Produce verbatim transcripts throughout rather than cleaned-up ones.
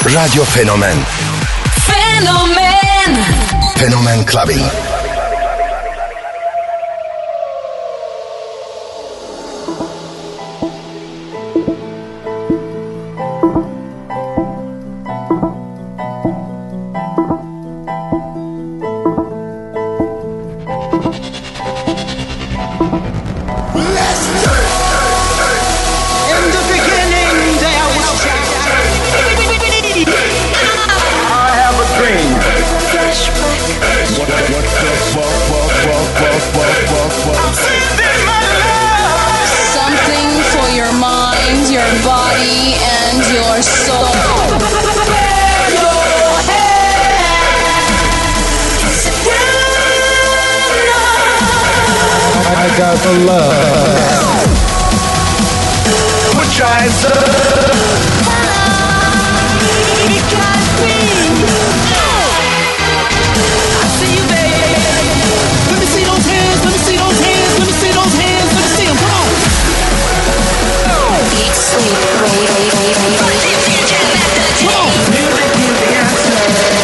Radyo Fenomen. Fenomen. Fenomen Clubbing. The love. We're trying to. I see you, baby. Let me see those hands. Let me see those hands. Let me see those hands. Let me see them. Come on. Eat, sleep, wait, wait, wait, wait, wait. Come on. Music is the answer.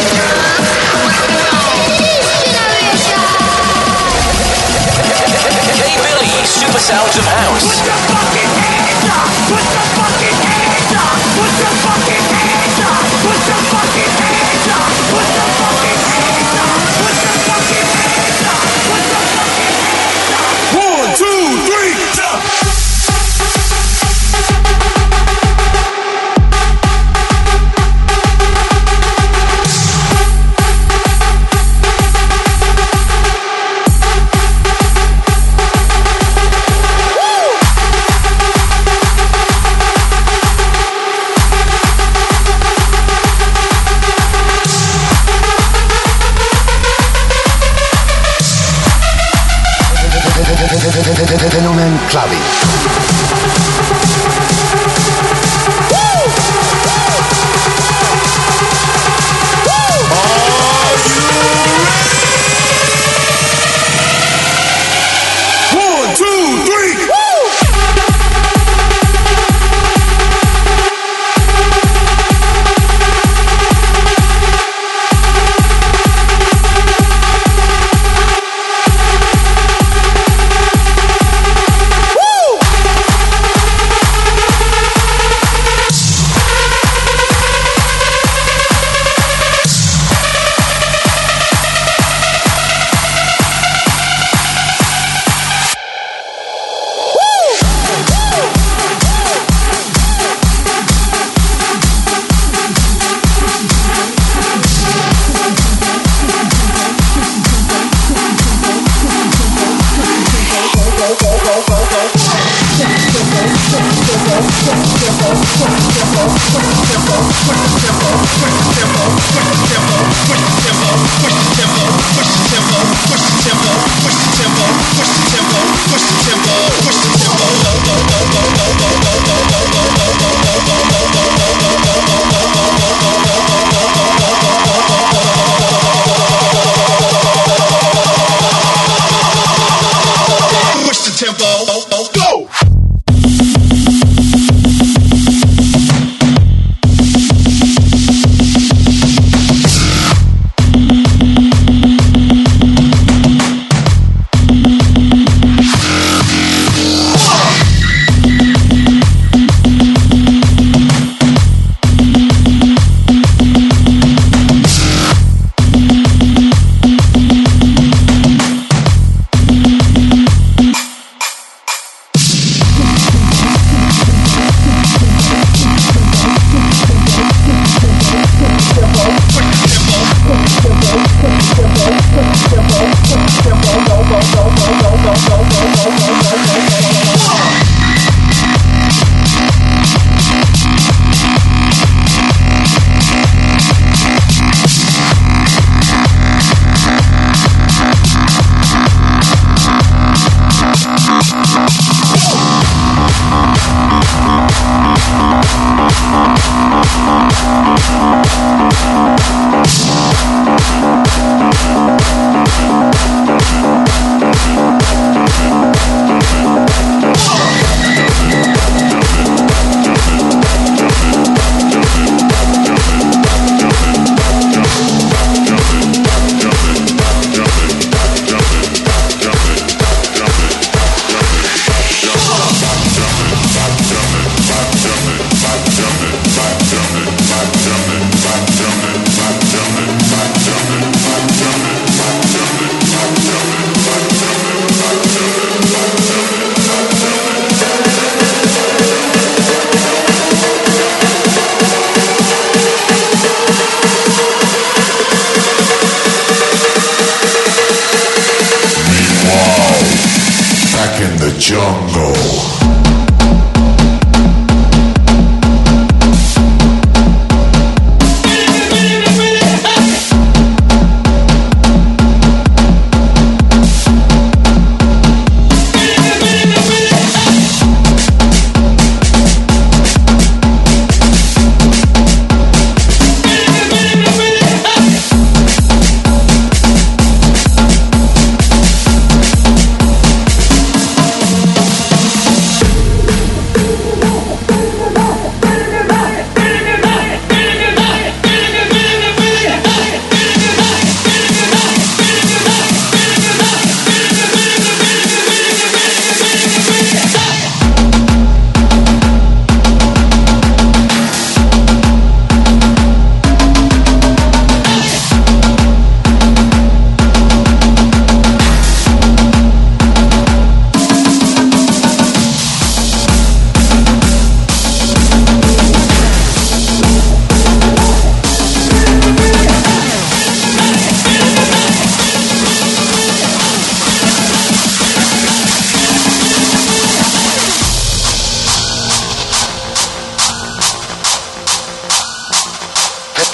Super sounds of house. Put your fucking hands up! Put your fucking hands up! Put your fucking hands up! Put your fucking hands up! Put your fucking hands up! Put your fucking hands up! Put your fucking hands up! One, two, three, jump! Fenomen Clubbing. One,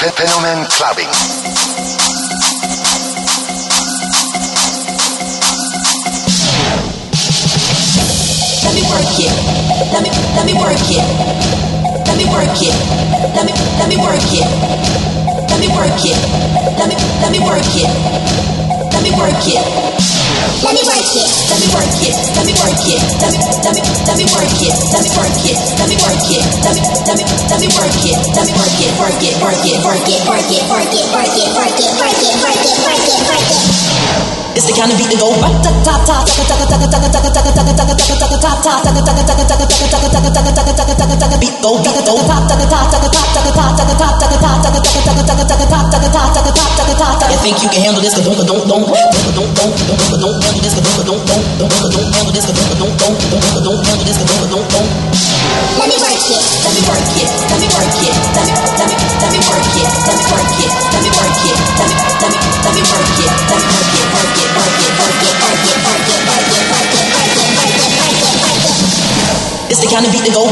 Fenomen Clubbing. Let me work it. Let me let me work it. Let me work it. Let me let me work it. Let me work it. Let me let me work it. Let me work it. Let me work it. Let me work it. Let me work it. Let me let me let me work it. Let me work it. Let me work it. Let me let me let me work it. Let me work it. Work it. Work it. Work it. Work it. Work it. Work it. Work it. Work it. Work it. Work it. Work it. It's the kind of beat that go right ta ta ta ta ta ta ta ta ta ta ta ta ta ta ta ta beat go beat go ta ta ta ta ta ta ta ta ta ta. You think you can handle this? Don't don't don't don't don't don't don't handle this. Don't don't don't don't don't handle this. Don't don't don't don't don't handle this. Don't don't don't. Let me work it. Let me work it. Let me work it. Let me let me let me work it. Let me work it. Let me work it. Let me let me let me work it. Let me work it. Work it. Work it. Work it. Work it. Work it. Work it. Work it. Work it. Work it. Work it. Work it. It's the kind of beat that go.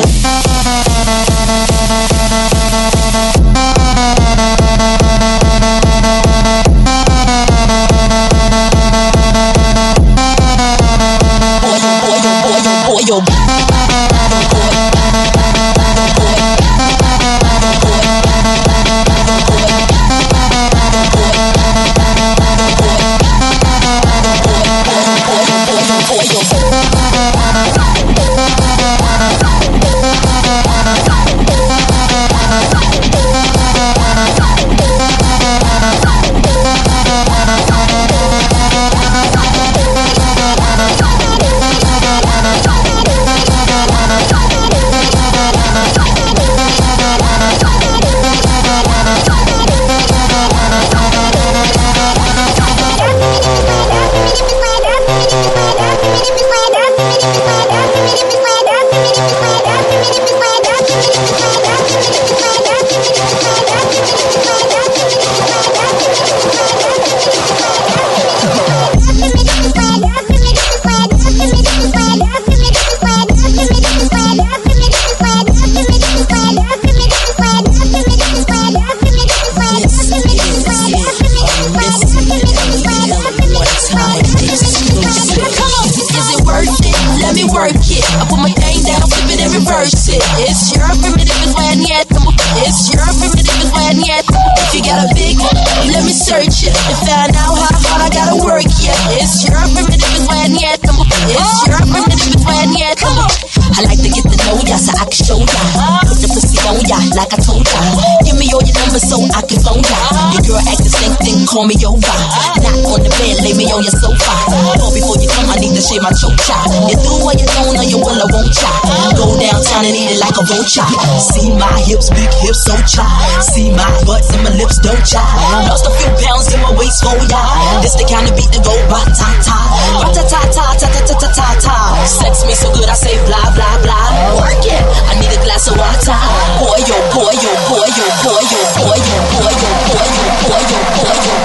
Call me over, not on the bed, lay me on your sofa. Call before you come, I need to shave my choke chop. You do what you don't, or you will, I won't chop. Go downtown and eat it like a vulture. See my hips, big hips, so chop. See my butts and my lips, don't chop. Lost a few pounds in my waist, oh yeah. This the kind of beat that go ba-ta-ta, ba-ta-ta-ta-ta-ta-ta-ta-ta. Sex me so good, I say blah, blah, blah. Work it, I need a glass of water. Boy, yo, boy, yo, boy, yo, boy, yo, boy, yo, boy, yo, boy, yo, boy, yo, boy, yo.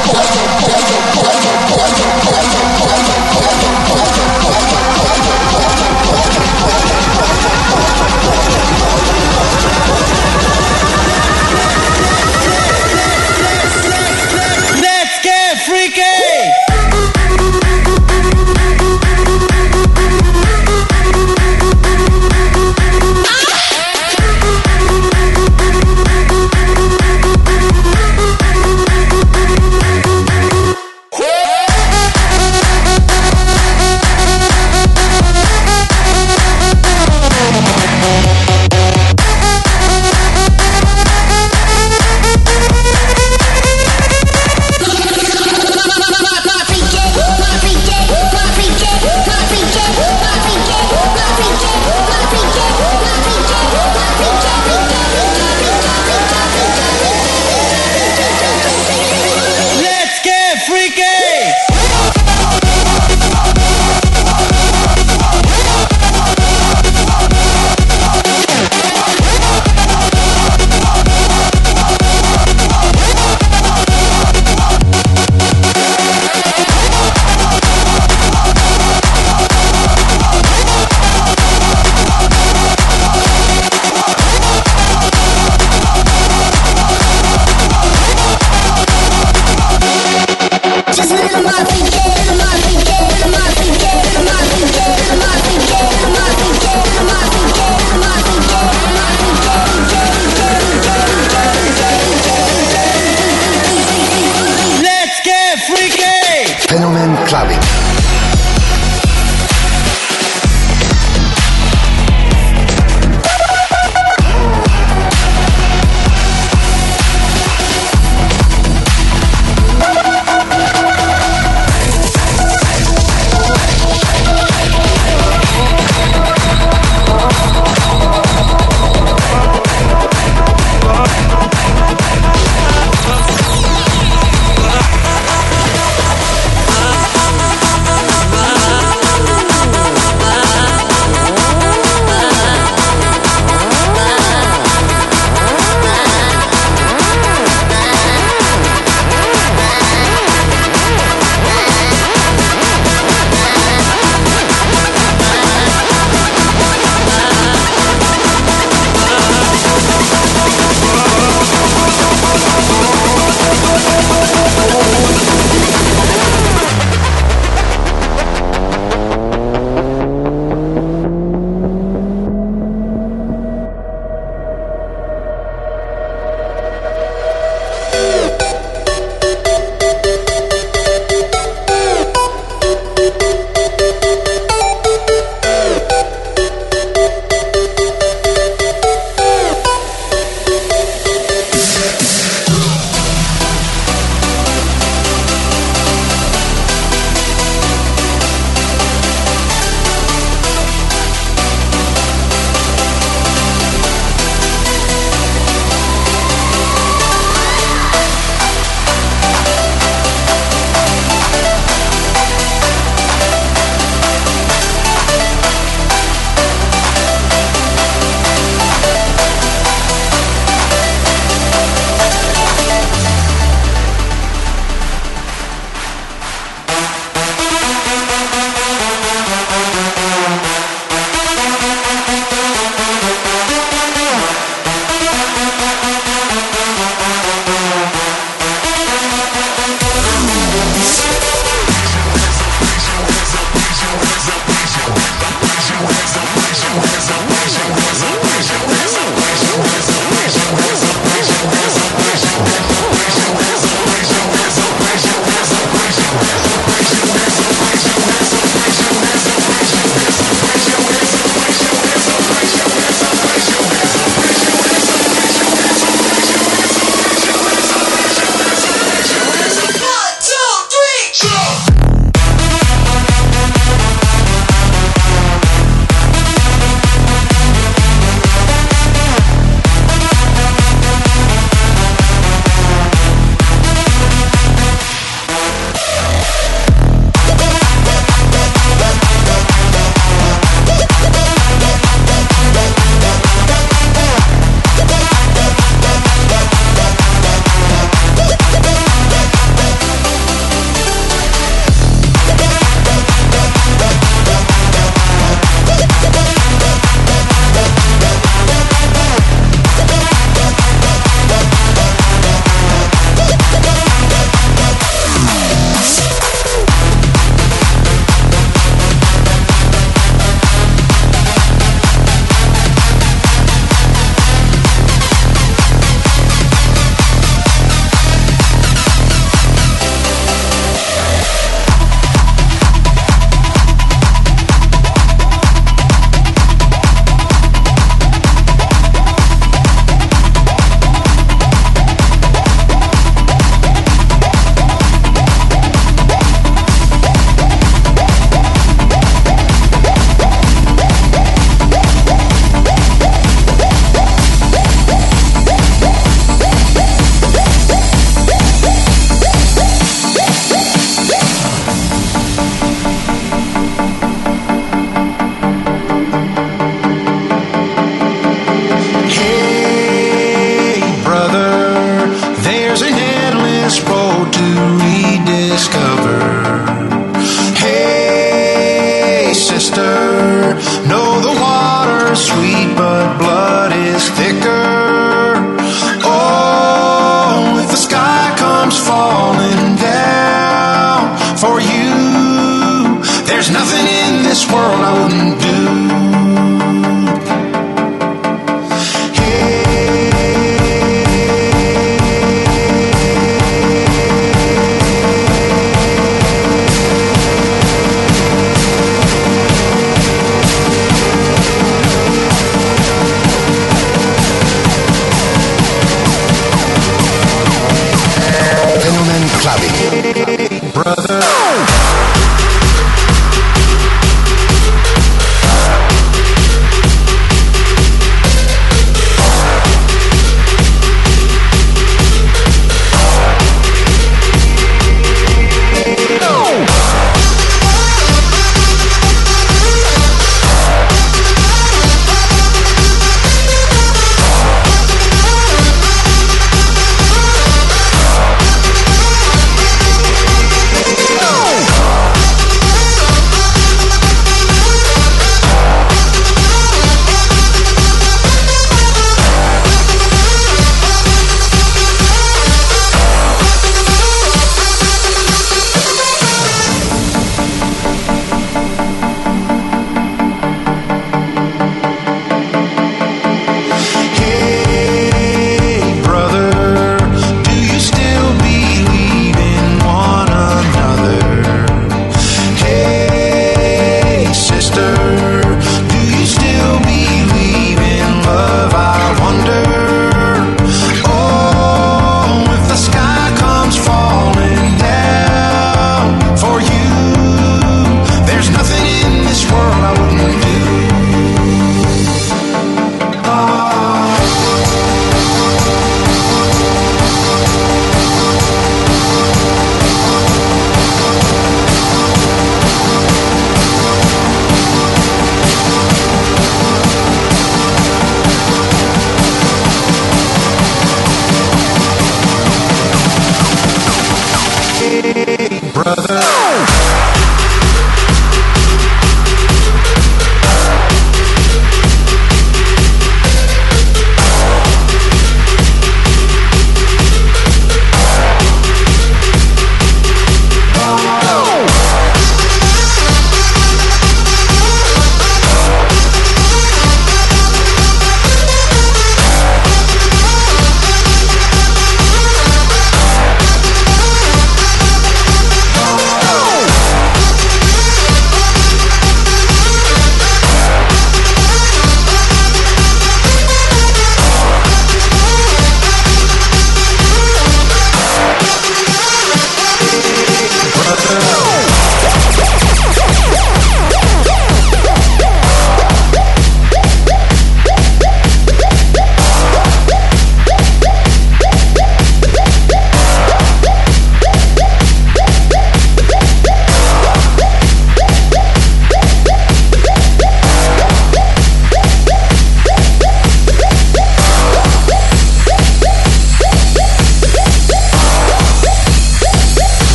Let's get freaky!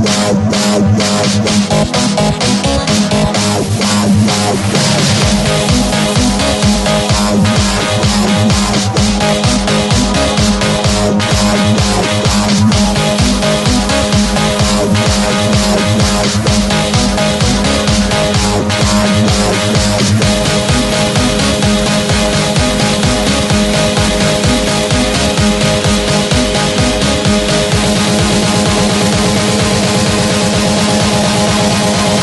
We'll be right back.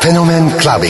Fenomen Clubbing.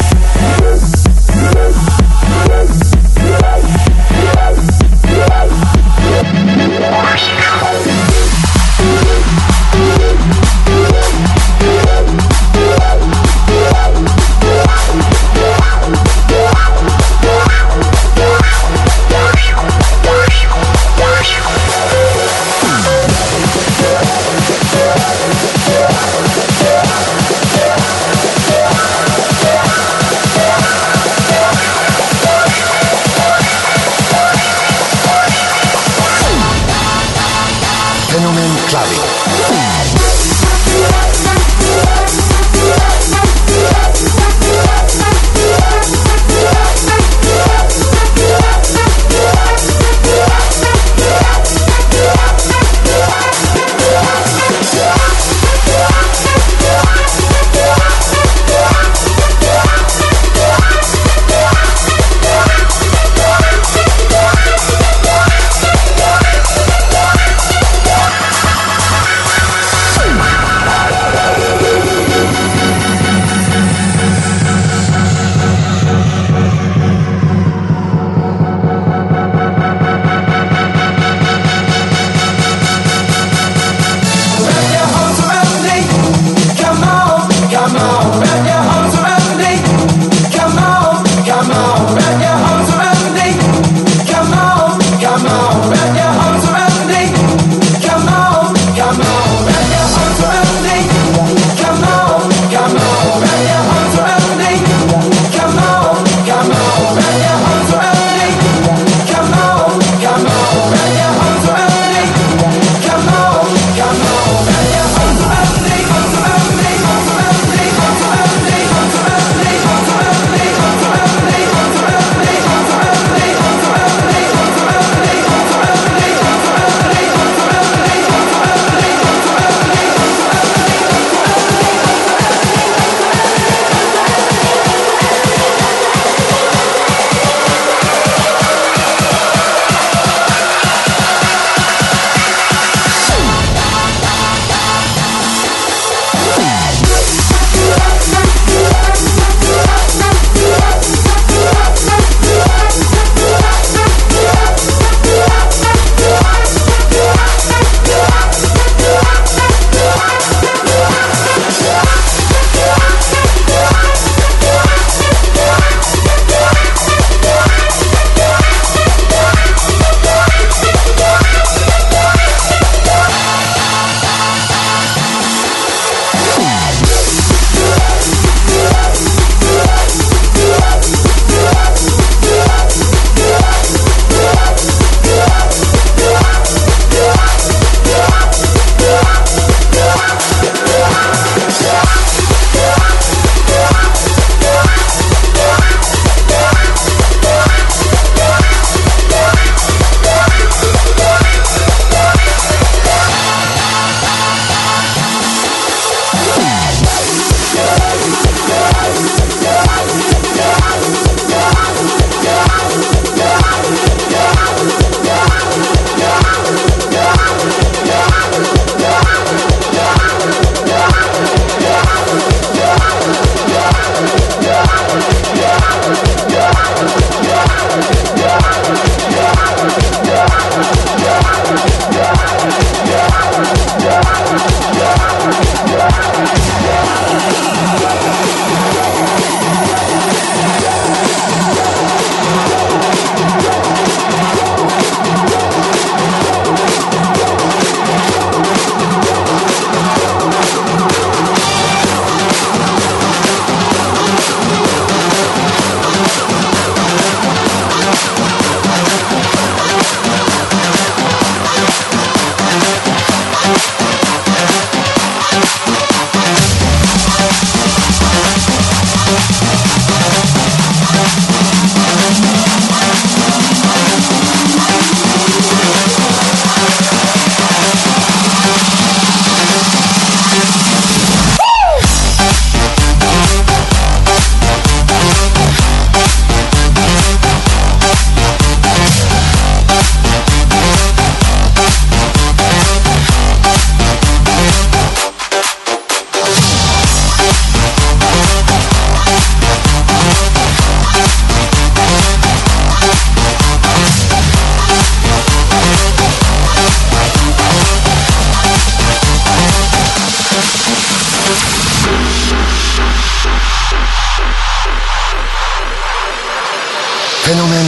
Yeah.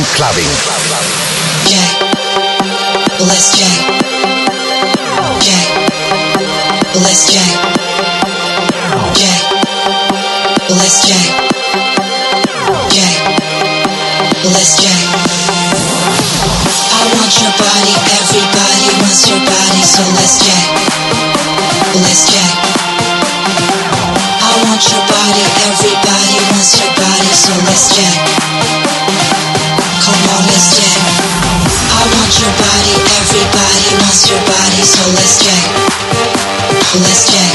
Phenomen Clubbing. Jack, let's Jack. Jack, let's Jack. Jack, let's Jack. Jack, let's Jack. I want your body, everybody wants your body, so let's Jack. Let's Jack. I want your body, everybody wants your body, so let's Jack. Come on, let's Jack. I want your body, everybody wants your body, so let's Jack. Let's Jack.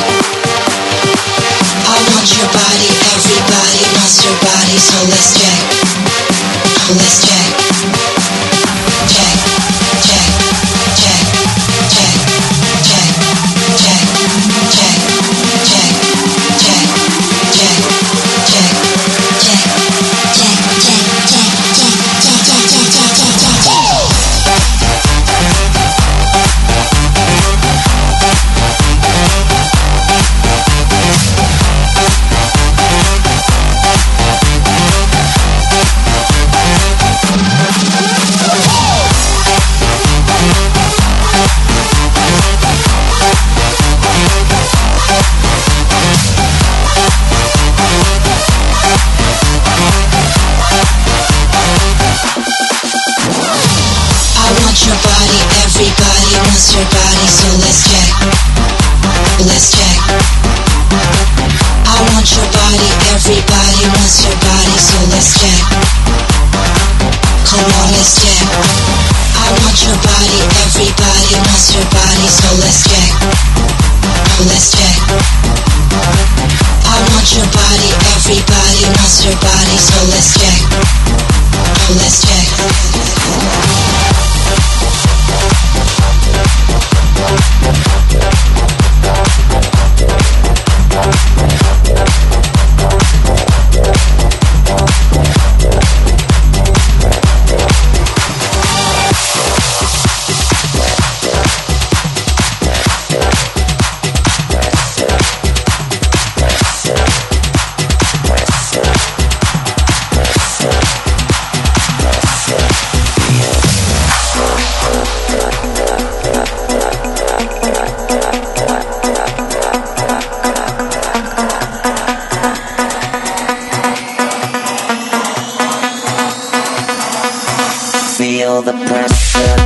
I want your body, everybody wants your body, so let's Jack. Let's Jack. Jack, Jack, Jack, Jack, Jack, Jack, Jack, Jack, Jack, Jack, Jack, Jack, Jack, everybody wants your body, so let's Jack. Let's Jack. I want your body, everybody wants your body, so let's Jack. Come on, let's Jack. I want your body, everybody wants your body, so let's Jack. Let's Jack. I want your body, everybody wants your body, so let's Jack. Let's Jack. Feel the pressure.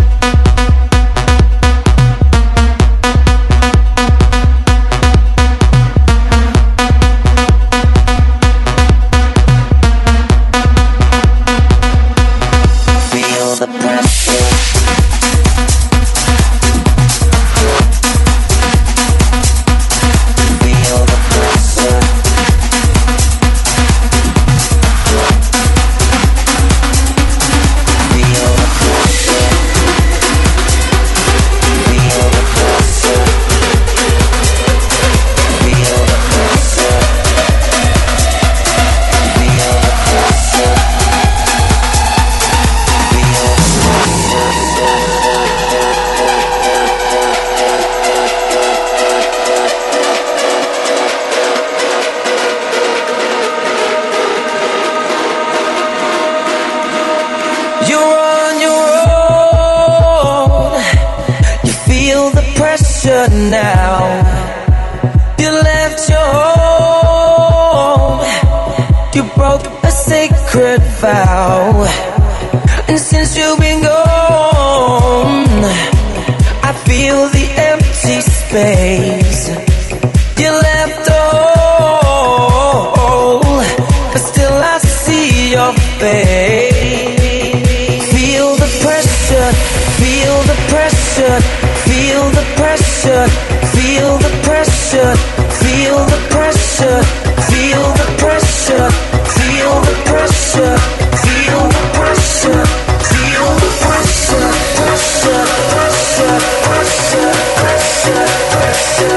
Feel the pressure. Feel the pressure. Now you left your home, you broke a sacred vow, and since you've been gone, I feel the empty space. You left a hole, but still I see your face. Feel the pressure, feel the pressure. Feel the pressure, feel the pressure, feel the pressure, feel the pressure, feel the pressure, feel the pressure, feel the pressure, pressure, pressure, pressure, pressure, pressure.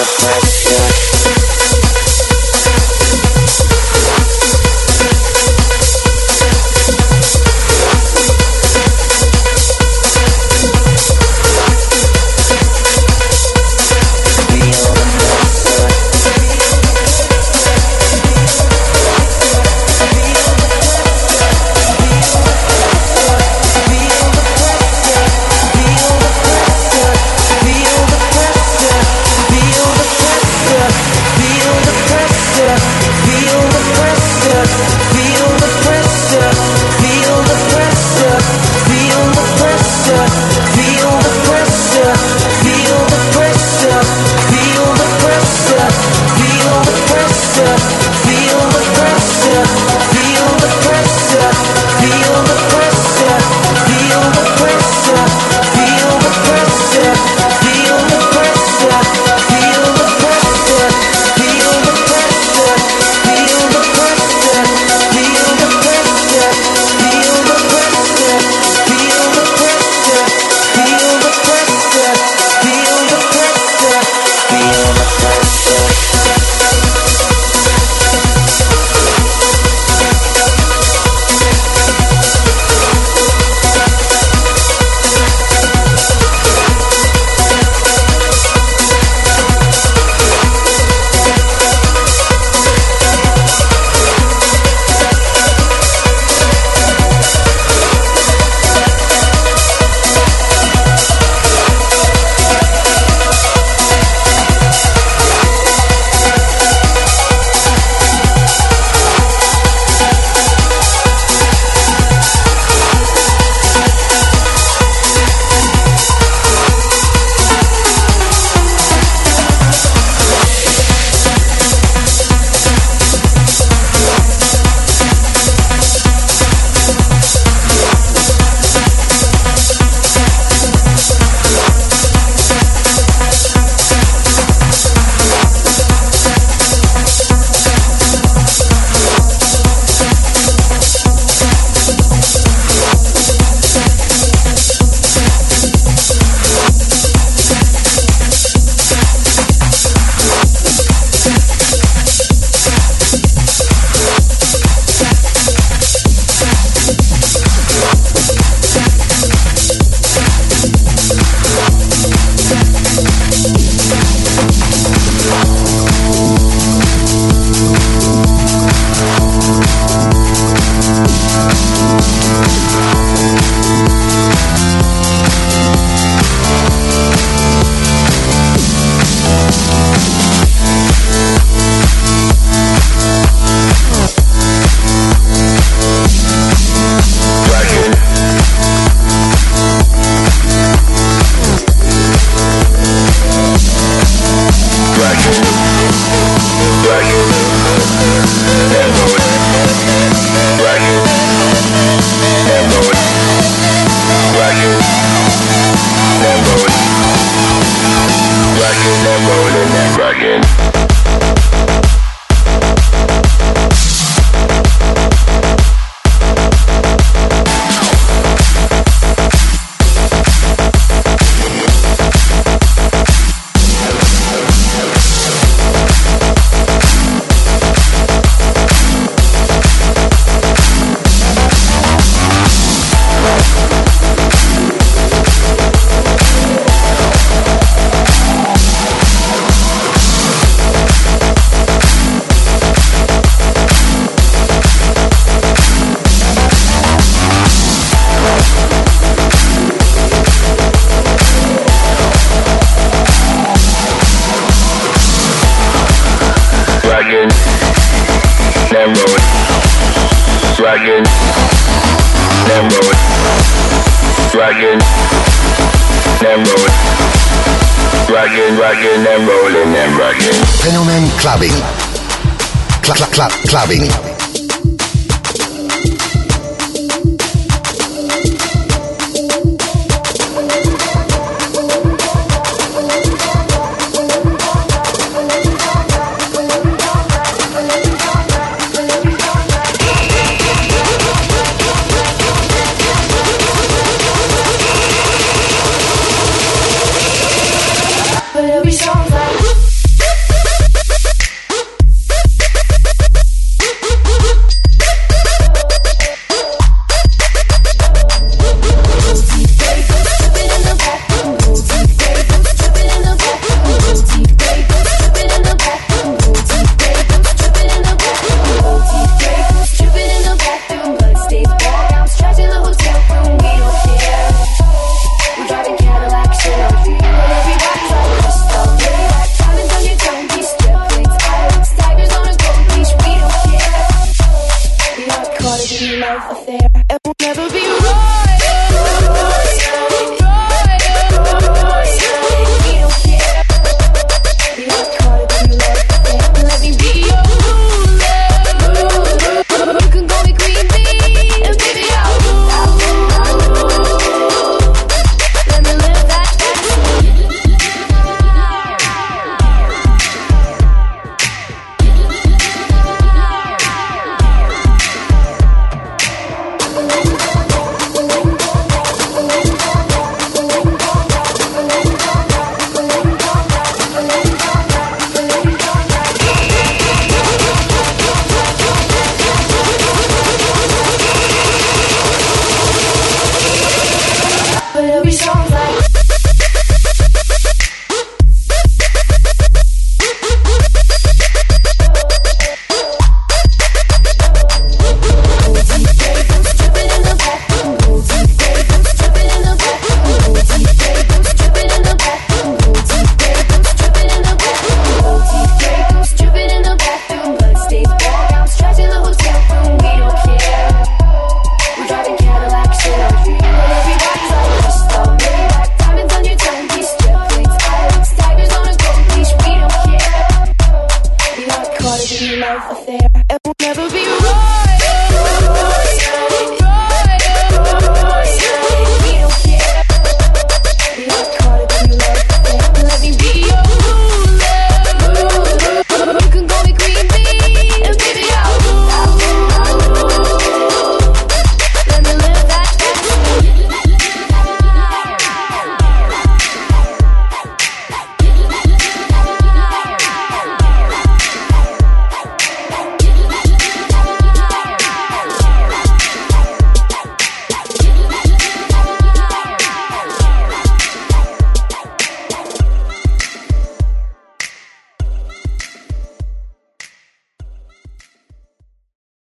Dragging, then roll it. Dragging, then roll it. Dragging, dragging, then rolling, then dragging. Fenomen Clubbing. Cl- cl- cl- clubbing. But every song's like there and we'll never be